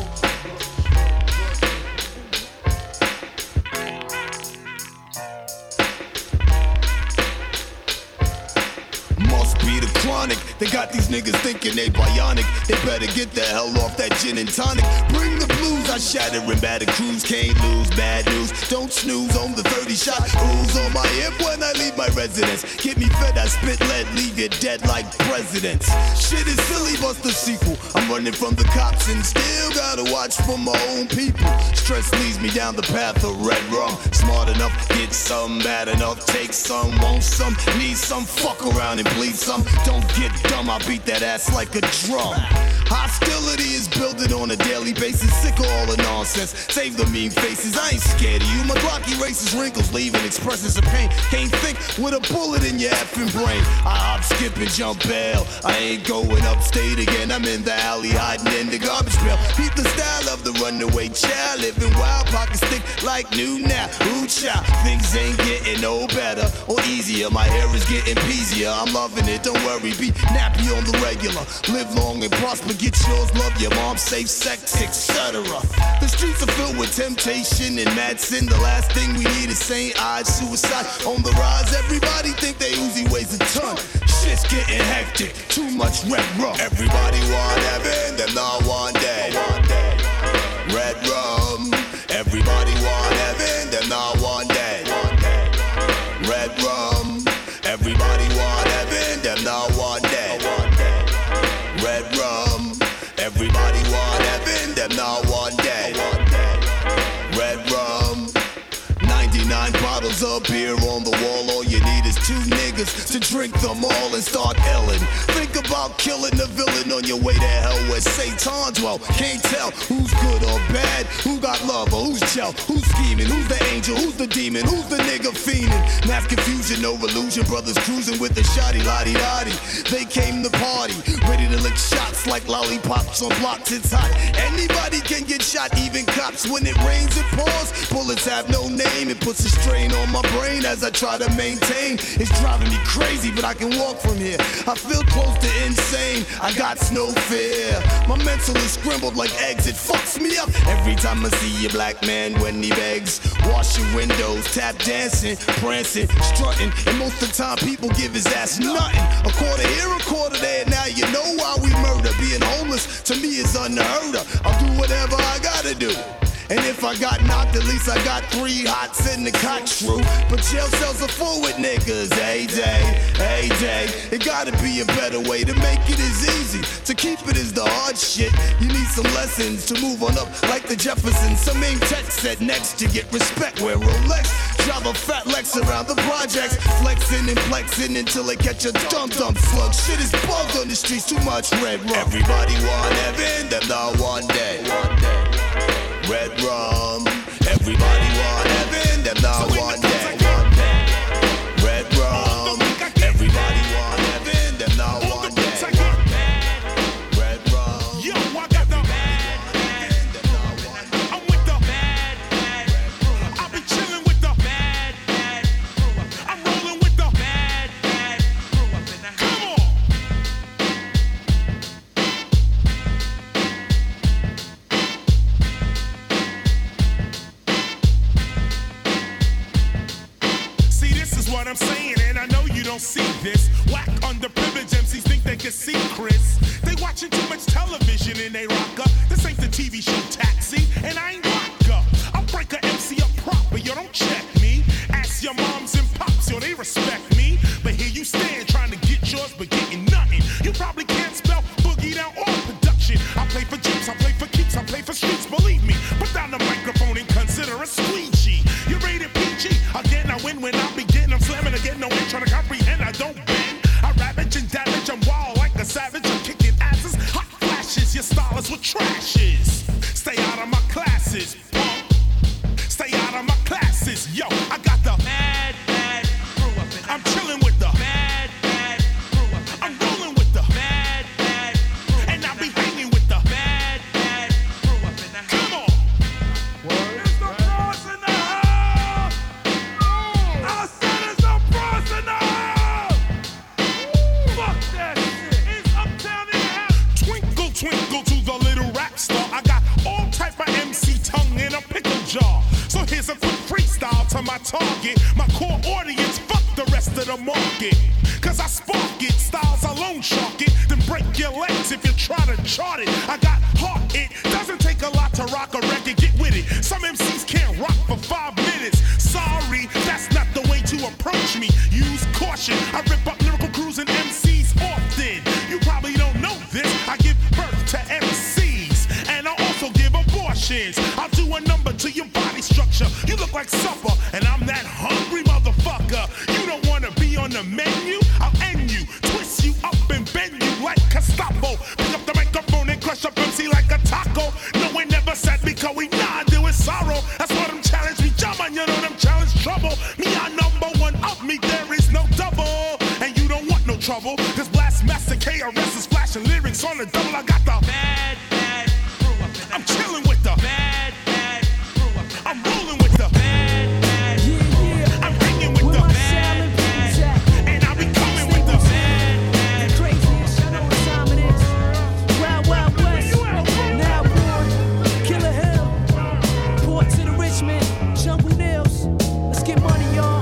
Must be the chronic. They got these niggas thinking they bionic. They better get the hell off that gin and tonic. Bring the blues, I shatter in battered crews. Can't lose, bad news. Don't snooze on the thirty shot. Ooze on my hip when I leave my residence. Get me fed, I spit lead, leave you dead like presidents. Shit is silly, bust the sequel. I'm running from the cops and still gotta watch for my own people. Stress leads me down the path of red rum. Smart enough, get some, bad enough, take some, want some, need some, fuck around and bleed some. Don't get dumb, I beat that ass like a drum. Hostility is building on a daily basis. Sick of all the nonsense. Save the mean faces. I ain't scared of you. My block erases wrinkles, leaving expressions of pain. Can't think with a bullet in your effing brain. I hop, skip, and jump bail. I ain't going upstate again. I'm in the alley, hiding in the garbage pail. Keep the style of the runaway child, living wild, pockets thick like new now. Ooh, child, things ain't getting no better or easier. My hair is getting peasier. I'm loving it. Don't worry, be nappy on the regular. Live long and prosper. Get yours, love your mom, safe sex, et cetera. The streets are filled with temptation and mad sin. The last thing we need is saint-eyed suicide on the rise. Everybody think they Uzi weighs a ton. Shit's getting hectic, too much red rum. Everybody want heaven, them not one day. Red rum. Everybody want heaven, them not one day. Red rum. Everybody want heaven, them not one day. Red rum. Everybody want heaven, them not one day. Red rum. ninety-nine bottles of beer on the wall. All you need is two niggas to drink them all and start Ellen. Think about killing the villain on your way to hell where Satan dwell. Can't tell who's good or bad, who got love or who's gel, who's scheming, who's the angel, who's the demon, who's the nigga fiending. Mass confusion, no illusion, brothers cruising with the shoddy lottie dotty. They came to party, ready to lick shots like lollipops on blocks. It's hot, anybody can get shot, even cops. When it rains it pours, bullets have no name. It puts a strain on my brain as I try to maintain. It's driving me crazy, but I can walk from here. I feel close to insane, I got no fear. My mental is scrambled like eggs, it fucks me up every time I see a black man when he begs. Wash your windows, tap dancing, prancing, strutting, and most of the time people give his ass nothing. A quarter here, a quarter there, now you know why we murder. Being homeless to me is unheard of. I'll do whatever I gotta do. And if I got knocked, at least I got three hots in the cock true. But jail cells are full with niggas, hey day, hey day. It gotta be a better way to make it as easy. To keep it is the hard shit. You need some lessons to move on up like the Jeffersons. Some main text said next to get respect. Wear Rolex, drive a fat Lex around the projects. Flexing and flexing until they catch a dum-dum slug. Shit is bugged on the streets, too much red rum. Everybody want heaven, them not one day. One day. Red rum. Everybody want heaven, them not one day. Red rum. Everybody want heaven, them not one day. Red rum. Yo, I got the I'm with the I be chilling with the I'm rolling with the Come on. What I'm saying, and I know you don't see this. Whack underprivileged M Cs think they can see Chris. They watching too much television and they rock up. This ain't the T V show Taxi, and I ain't rock up. I'll break a M C up proper, yo, don't check me. Ask your moms and pops, yo, they respect me. But here you stand trying to get yours, but getting nothing. You probably can't spell boogie down or production. I play for Jeeps, I play for keeps, I play for streets, believe me. Put down the microphone and consider a squeegee. You rated P G, again I win when I begin. I'm slamming again, no one trying to comprehend, I don't bend. I ravage and damage, I'm wild like a savage. I'm kicking asses, hot flashes, your style is what trash is. Stay out of my classes, punk. Stay out of my classes, yo, I got the mad my target. My core audience, fuck the rest of the market. Cause I spark it, styles alone shark it. Then break your legs if you try to chart it. I got heart, it doesn't take a lot to rock a record, get with it. Some M Cs can't rock for five minutes. Sorry, that's not the way to approach me. Use caution, I rip up lyrical crews and M Cs often. You probably don't know this, I give birth to M Cs. And I also give abortions. I'll do a number to your body structure. You look like supper, and I'm that hungry motherfucker. You don't wanna be on the menu? I'll end you, twist you up and bend you like Gestapo. Pick up the microphone and crush up M C like a taco. No one never said me, cause we nah do it sorrow. That's why them challenge me, jump on, you know them challenge trouble. Me, I number one of me, there is no double. And you don't want no trouble, cause Blast Master K R S is flashing lyrics on the double. I got the bad, bad crew up in I'm chilling with the bad, bad crew up in I'm rolling with the bad, bad crew. Yeah, yeah. I'm hanging with the bad, bad, and I be coming with the bad, bad. Craziest, you know what time it is. Wild, Wild West, now born, Killer Hill, Port to the Richmond, Jungle Nails. Let's get money, y'all.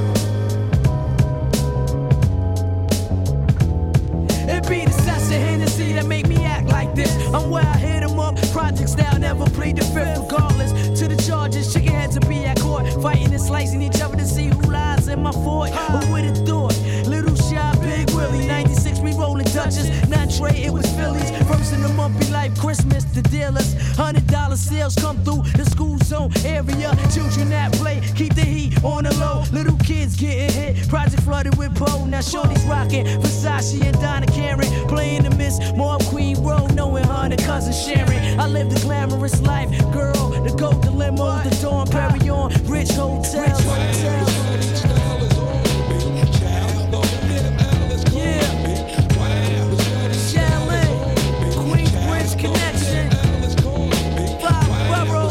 It be the Sessa Hennessy that make me act like this. I'm where I hit 'em up, project style, never plead the fifth. Regardless to the charges, chicken heads to be at court, fighting and slicing each other to see who lies in my fort. Who would have thought? Little shy, Big Willie, ninety-six, we rolling Dutchess. Not Trey, it was Phillies. First in the month, be like Christmas. The dealers, hundred dollar sales come through the school zone area. Children that play, keep the heat on the low. Little kids getting hit, project flooded with Poe. Now shorty's rocking Versace and Donna Karen, playing the Miss Mob Queen Road, knowing her and cousin Sharon. I live the glamorous life, girl, the gold, the limo, the Dawn Perignon, rich hotels. Connection, five boroughs,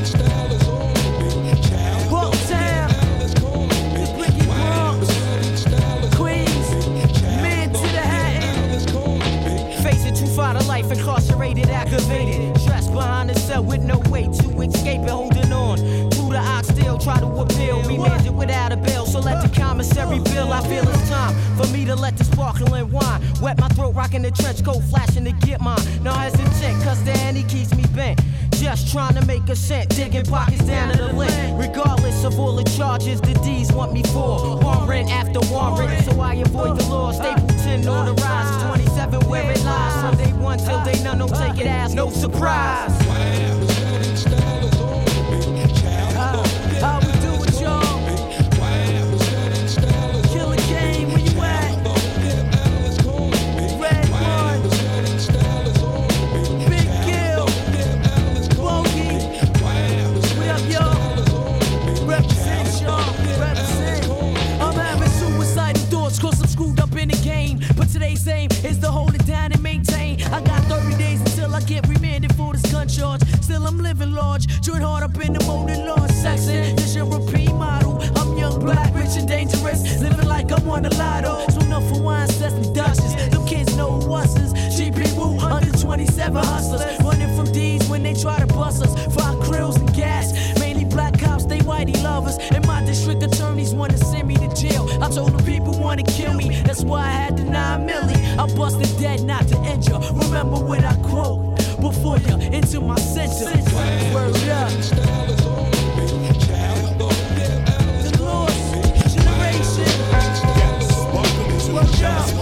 Bucktown, the Bricky Bronx, Queens, man to the Hatton. Facing too far to life, incarcerated, activated, stressed behind the cell with no way to escape and holding on. Through the ox still try to appeal, remanded without a bail. So let the commissary bill. I feel it's time for me to let the sparkling wine wet my throat, rocking the trench coat, flashing to get mine. No hesitant, cause the handy keeps me bent. Just trying to make a cent, digging pockets down to the lint. Regardless of all the charges, the D's want me for warrant after warrant. So I avoid the law, Stapleton on the rise. twenty-seven where it lies, from day one till day none, don't take it as no surprise. Uh, how we do it, y'all? Killer Game, where you at? Red One, Big Gill, Bogey. What up, y'all? Represent, y'all. Represent. I'm having suicidal thoughts, cause I'm screwed up in the game. But today's aim is to hold it down and maintain. I got thirty days until I get remanded for this gun charge. Still, I'm living large, join hard up in the molded law section. This your repeat model. I'm young, black, rich, and dangerous. Living like I won a lotto. So enough for wine, Sesame Dutchess. Them kids know what's G P Woo, under twenty-seven hustlers. Running from D's when they try to bust us. Five krills and gas. Mainly black cops, they whitey lovers. And my district attorneys wanna send me to jail. I told the people wanna kill me. That's why I had the nine milli. I busted dead, not to injure. Remember what I quote before you into my center. Word up. The lost generation. Word up.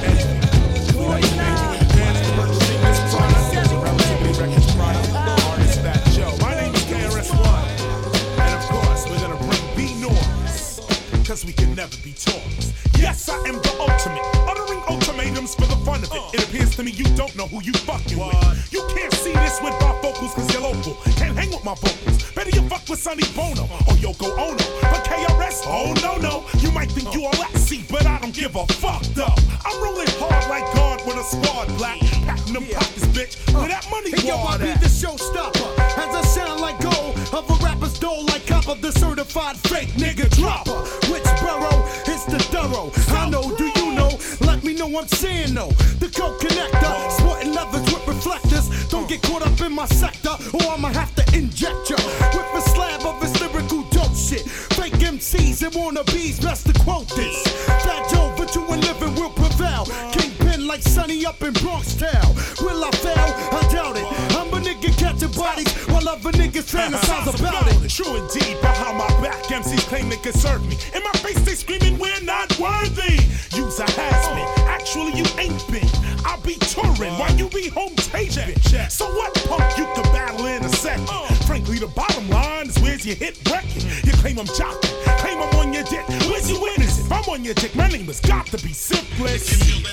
My name is K R S One, and of course we're gonna bring B noise, cause we can never be taught. Yes, I am the ultimate, uttering ultimatums for the fun of it. It appears to me you don't know who you fucking with. You can't see this with my vocals cause you're local. Can't hang with my vocals. Better you fuck with Sonny Bono or Yoko Ono. But K R S, oh no no. You might think you all at sea, but I don't give a fuck though. I'm rolling hard like God with a squad black. Packing them pockets, bitch. Where that money hey, yo, I be the showstopper. As I sound like gold of a rapper's dole like copper, the certified fake nigga dropper. Which borough is the thorough? I know, do you know? Let me know I'm saying no. The coke connector, sporting leathers with reflectors. Don't get caught up in my sector, or I'ma have to inject ya with a slab of his lyrical dose. bullshit. Fake M Cs and wannabes, best to quote this. Fat Joe, but you and living will prevail. Kingpin like Sonny up in Bronx Town. Will I fail? I doubt it. I'm a nigga catching bodies while other niggas fantasize about it. True indeed, behind my back, M Cs claim they can serve me. In my face, they screaming, we're not worthy. You's a has-been, actually you ain't been. I'll be touring while you be home taping. So what punk you can battle in a second? Frankly, the bottom line is where's your hit record? You claim I'm jocking, claim I'm on your dick. Where's your winners? If I'm on your dick, my name has got to be Simplest.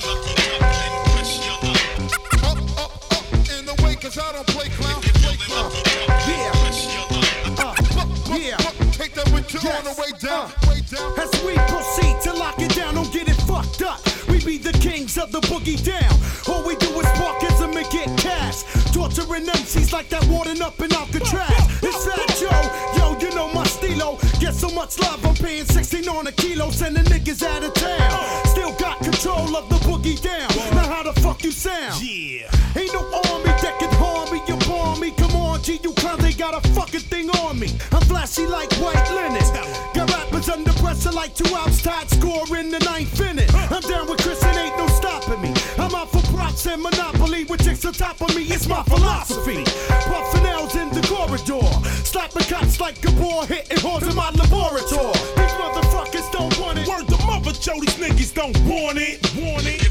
Up, up, up in the way, cause I don't play clown, play clown. Yeah. Uh, yeah. Take that with you yes. on the way down, uh, way down. As we proceed to lock it down, don't get it fucked up. We be the kings of the boogie down. All we do is sparkism and get cash. Torturing M Cs like that warden up in Alcatraz. It's Fat Joe, yo, you know my stilo. Get so much love, I'm paying sixteen on a kilo. Sending niggas out of town. Still got control of the boogie down. Now how the fuck you sound? Yeah. Ain't no army that can harm me, you bomb me. Come on, G, you clowns, they got a fucking thing on me. I'm flashy like white linen. Got rappers under pressure like two outs tied, score in the ninth inning. I'm down with Chris and ain't no stopping me. I'm out for props and monopoly with chicks on top of me. It's my philosophy. Puffin' L's in the corridor, slapping cops like a ball, hitting whores in my laboratory. These motherfuckers don't want it. Word to mother, Joe, these niggas don't want it. Want it.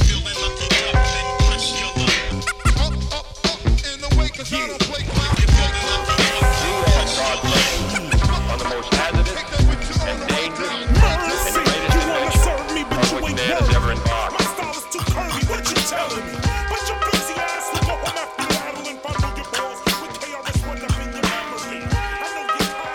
Up, up, up in the way, cause I don't play clown. On the most hazardous and dangerous and greatest invention of which man has ever embarked. My style is too curvy, what you telling me? But your busy ass will go home after battle and follow your balls with K R S one up in your memory. I know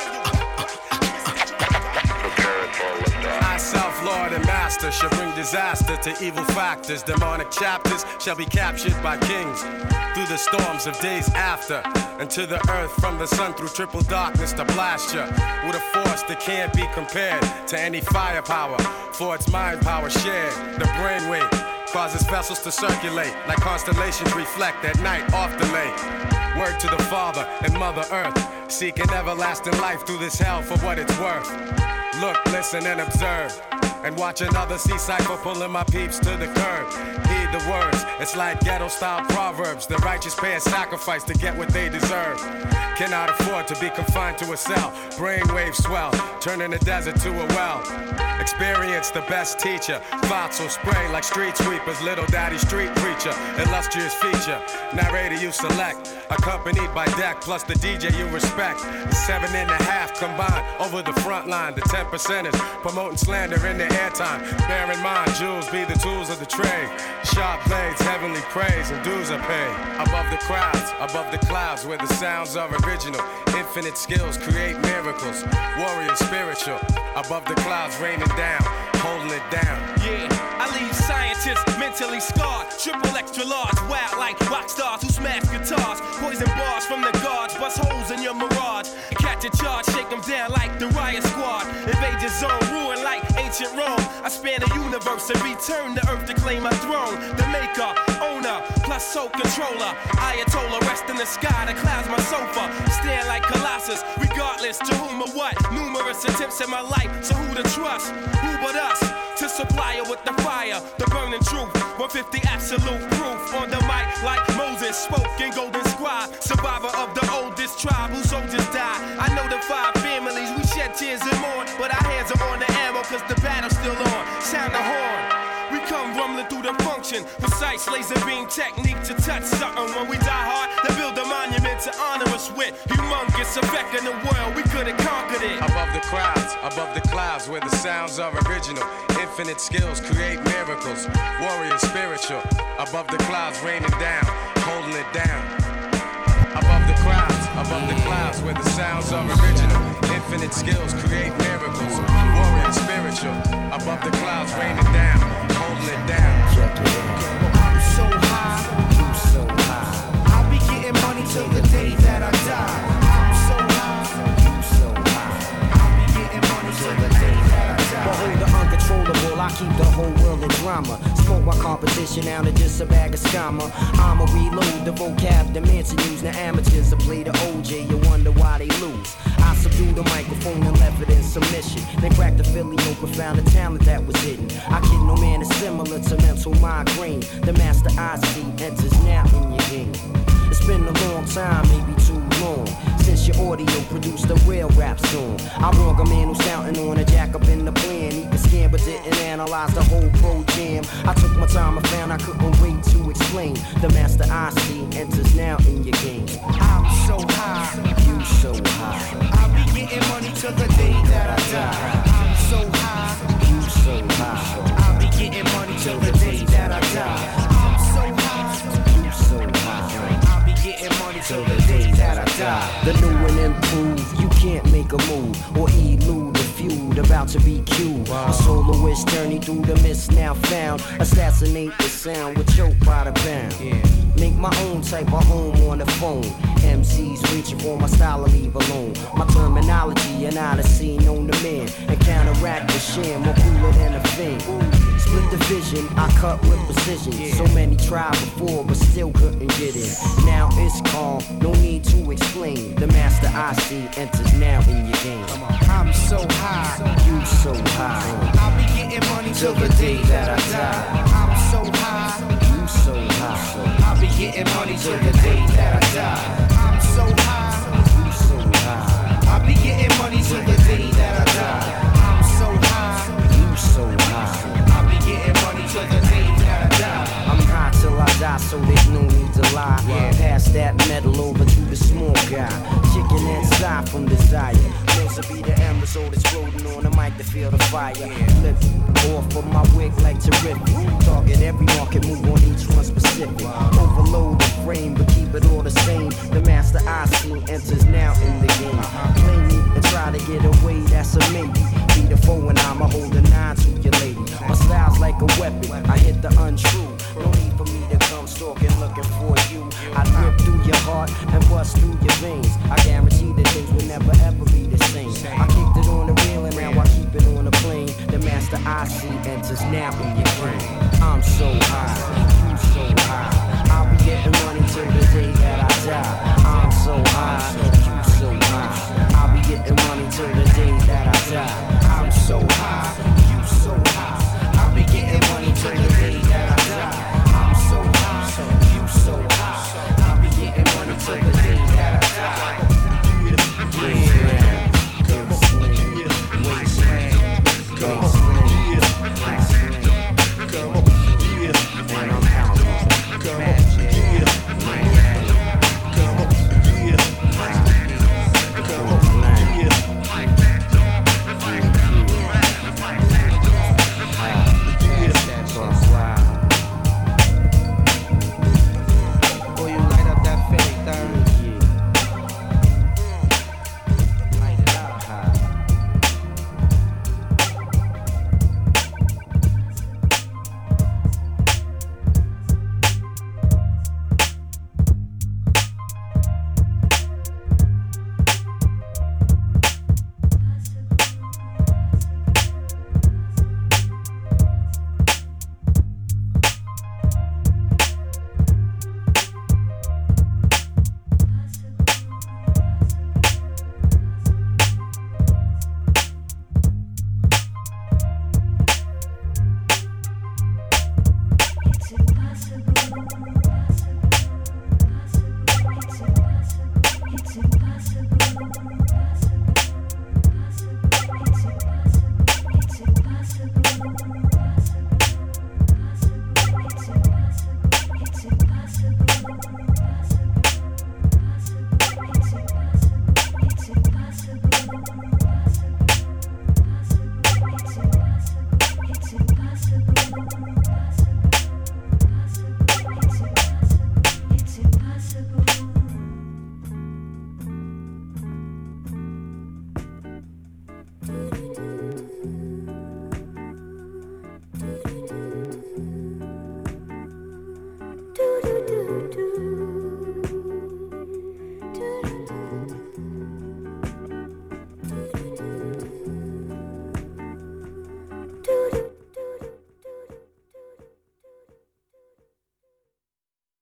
you're tired, I, self-lord and master, shall bring disaster to evil factors. Demonic chapters shall be captured by kings through the storms of days after, and to the earth from the sun through triple darkness to blast ya with a force that can't be compared to any firepower, for its mind power shared. The brainwave causes vessels to circulate like constellations reflect at night off the lake. Word to the Father and Mother Earth, seeking everlasting life through this hell for what it's worth. Look, listen, and observe, and watch another sea cycle pulling my peeps to the curb. Heed the words, it's like ghetto-style proverbs. The righteous pay a sacrifice to get what they deserve. Cannot afford to be confined to a cell. Brainwave swell, turning the desert to a well. Experience the best teacher. Thoughts will spray like street sweepers. Little daddy street preacher, illustrious feature. Narrator you select, accompanied by deck, plus the D J you respect. The seven and a half combined over the front line. The ten percenters promoting slander in their airtime. Bear in mind, jewels be the tools of the trade. Sharp blades, heavenly praise, and dues are paid. Above the crowds, above the clouds, where the sounds are original. Infinite skills create miracles. Warrior spiritual. Above the clouds, raining down, holding it down. Yeah, I leave scientists mentally scarred. Triple extra large, wild like rock stars who smash guitars. Poison bars from the guards, bust holes in your mirage. Catch a charge, shake them down like the riot squad. Invade your zone, ruin like ancient Rome. I span the universe and return to earth to claim my throne. The maker, owner, plus soul controller. Ayatollah, rest in the sky, the clouds my sofa. Stand like Colossus, regardless to whom or what. Numerous attempts in my life, so who to trust? Who but us? To supply her with the fire, the burning truth. one fifty absolute proof. On the mic like Moses spoke in Golden Scribe. Survivor of the oldest tribe whose soldiers died. I know the five families, we shed tears and mourn. But our hands are on the ammo cause the battle's still on. Sound the horn. We come rumbling through the function. Precise laser beam technique to touch something. When we die hard, they build a monument to honor us with. Humongous effect in the world, we could have conquered it. Above the crowds, above the clouds, where the sounds are original. Infinite skills create miracles. Warrior spiritual. Above the clouds, raining down, holding it down. Above the crowds, above the clouds, where the sounds are original. Infinite skills create miracles. Warrior spiritual. Above the clouds, raining down, holding it down. I'm so high, you so high. I'll be getting money till the day that I die. I'm so high, you so high. I'll be getting money till the day that I die. Behold the uncontrollable, I keep the whole world in drama. Smoke my car competition now to just a bag of scammer. I'ma reload the vocab, the mansion use the amateurs to play the O J. You wonder why they lose. I subdued the microphone and left it in submission. They cracked the Philly open, found the talent that was hidden. I kid no man is similar to mental migraine. The master I see enters now in your game. It's been a long time, maybe too long, since your audio produced a real rap song. I wrong a man who's counting on a jack up in the plan. He could scan but didn't analyze the whole pro jam. I took my time, I found I couldn't wait to explain. The master I see enters now in your game. I'm so high, you so high. I'll be getting money till the day that I die. I'm so high, you so high. I'll be getting money till the day that I die. I'm so high, you so high. I'll be getting money till the day that I die. The new and improved, you can't make a move or elude the feud about to be cued. A soloist journey through the mist now found. Assassinate the sound with choke by the pound. Make my own type of home on the phone. M Cs reaching for my style and leave alone. My terminology and odyssey known to men. And counteract the sham, more cooler than a thing. Split the vision, I cut with precision. So many tried before, but still couldn't get in. Now it's calm, no need to explain. The master I see enters now in your game. I'm so high, you so high. I'll be getting money till the day that I die. I'm so high, you so high. I'll be getting money till the day that I die. I'm so high, you so high. I'll be getting money till the day that I die. I'm so high, you so high. I'll be getting money till the day that I die. I'm high till I die, so there's no need to lie. Yeah. Pass that metal over to the small guy. Chicken inside from desire. Those will be the embers, so exploding on the mic to feel the fire. Flip off of my wig like terrific. Target every market, move on